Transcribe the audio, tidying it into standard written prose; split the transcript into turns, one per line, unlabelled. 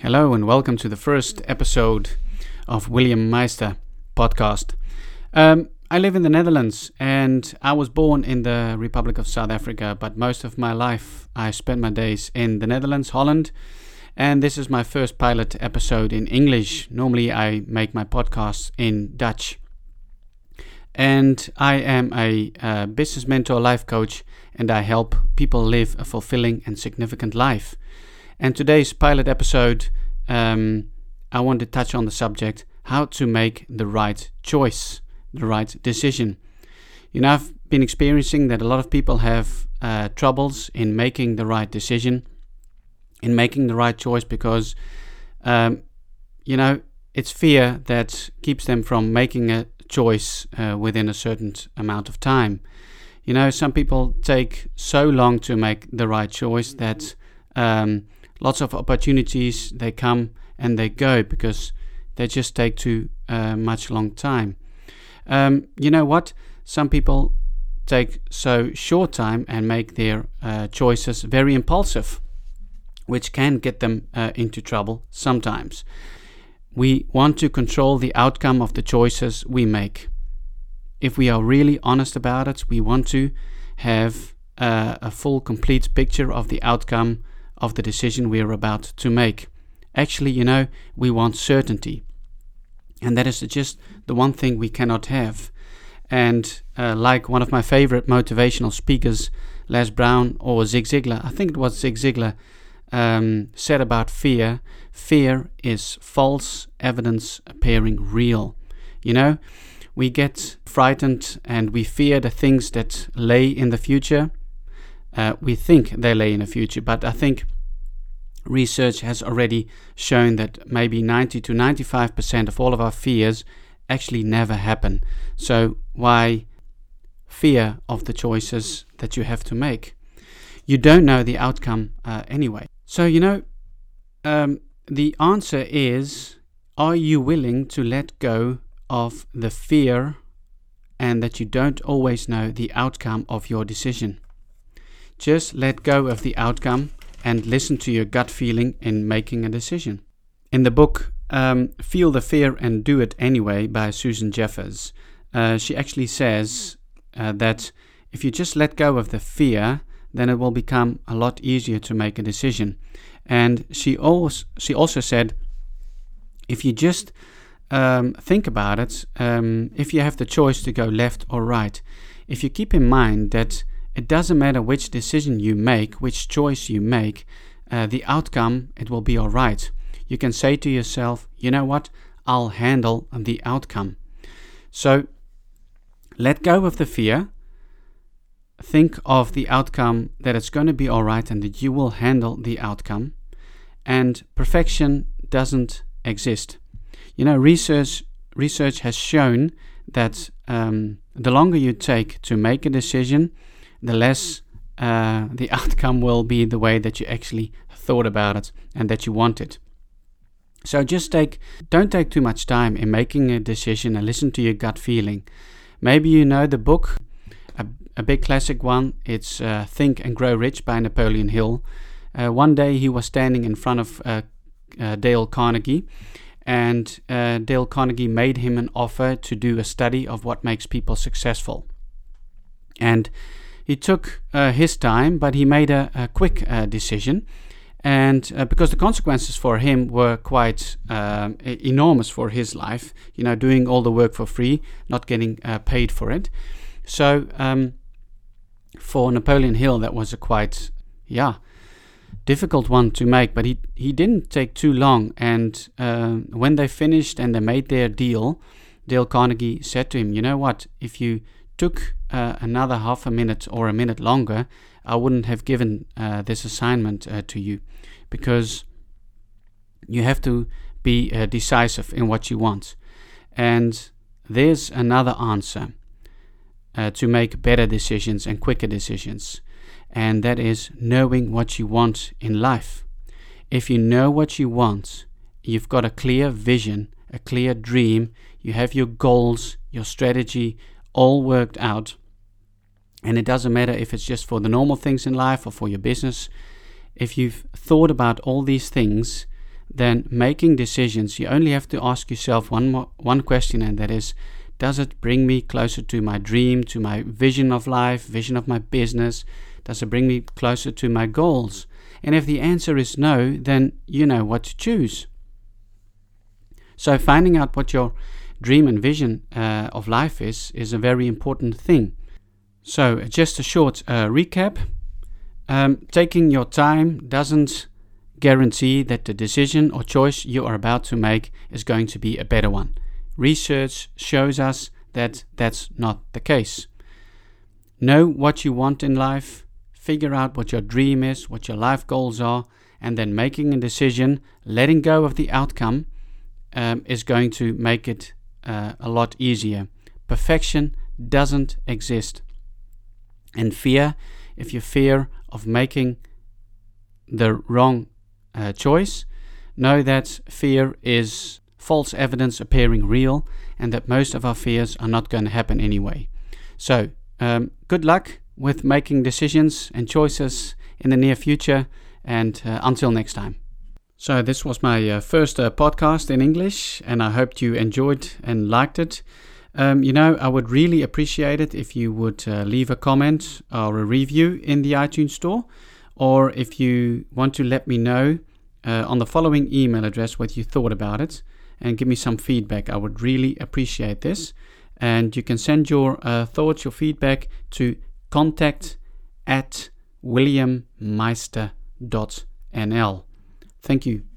Hello and welcome to the first episode of William Meister podcast. I live in the Netherlands and I was born in the Republic of South Africa, but most of my life I spent my days in the Netherlands, Holland, and this is my first pilot episode in English. Normally I make my podcasts in Dutch. And I am a business mentor, life coach, and I help people live a fulfilling and significant life. And today's pilot episode, I want to touch on the subject, how to make the right choice, the right decision. You know, I've been experiencing that a lot of people have troubles in making the right decision, in making the right choice, because, it's fear that keeps them from making a choice within a certain amount of time. You know, some people take so long to make the right choice that lots of opportunities, they come and they go because they just take too much long time. You know what? Some people take so short time and make their choices very impulsive, which can get them into trouble sometimes. We want to control the outcome of the choices we make. If we are really honest about it, we want to have a full, complete picture of the outcome of the decision we are about to make. Actually, you know, we want certainty. And that is just the one thing we cannot have. And like one of my favorite motivational speakers, Les Brown or Zig Ziglar, I think it was Zig Ziglar, said about fear is false evidence appearing real. You know, we get frightened and we fear the things that lay in the future. We think they lay in the future, but I think research has already shown that maybe 90 to 95% of all of our fears actually never happen. So why fear of the choices that you have to make? You don't know the outcome anyway. So, you know, the answer is, are you willing to let go of the fear and that you don't always know the outcome of your decision? Just let go of the outcome and listen to your gut feeling in making a decision. In the book Feel the Fear and Do It Anyway by Susan Jeffers, she actually says that if you just let go of the fear, then it will become a lot easier to make a decision. And she also said, if you just think about it, if you have the choice to go left or right, if you keep in mind that it doesn't matter which decision you make, which choice you make, the outcome, it will be all right. You can say to yourself, you know what, I'll handle the outcome. So let go of the fear. Think of the outcome, that it's going to be all right and that you will handle the outcome. And perfection doesn't exist. You know, research has shown that the longer you take to make a decision, the less the outcome will be the way that you actually thought about it and that you want it. So don't take too much time in making a decision and listen to your gut feeling. Maybe you know the book, a big classic one. It's Think and Grow Rich by Napoleon Hill. One day he was standing in front of Dale Carnegie, and Dale Carnegie made him an offer to do a study of what makes people successful. And he took his time, but he made a quick decision. And because the consequences for him were quite enormous for his life, you know, doing all the work for free, not getting paid for it. So for Napoleon Hill, that was a quite, difficult one to make. But he didn't take too long. And when they finished and they made their deal, Dale Carnegie said to him, you know what, if you took another half a minute or a minute longer, I wouldn't have given this assignment to you, because you have to be decisive in what you want. And there's another answer to make better decisions and quicker decisions, and that is knowing what you want in life. If you know what you want, you've got a clear vision, a clear dream, you have your goals, your strategy all worked out, and it doesn't matter if it's just for the normal things in life or for your business. If you've thought about all these things, then making decisions, you only have to ask yourself one question, and that is, does it bring me closer to my dream, to my vision of life, vision of my business? Does it bring me closer to my goals? And if the answer is no, then you know what to choose. So finding out what your dream and vision of life is a very important thing. So just a short recap. Taking your time doesn't guarantee that the decision or choice you are about to make is going to be a better one. Research shows us that that's not the case. Know what you want in life, figure out what your dream is, what your life goals are, and then making a decision, letting go of the outcome, is going to make it a lot easier. Perfection doesn't exist. And fear, if you fear of making the wrong choice, know that fear is false evidence appearing real, and that most of our fears are not going to happen anyway. So, good luck with making decisions and choices in the near future, and until next time. So this was my first podcast in English, and I hoped you enjoyed and liked it. I would really appreciate it if you would leave a comment or a review in the iTunes store, or if you want to let me know on the following email address what you thought about it, and give me some feedback. I would really appreciate this. And you can send your thoughts, your feedback to contact@williammeister.nl. Thank you.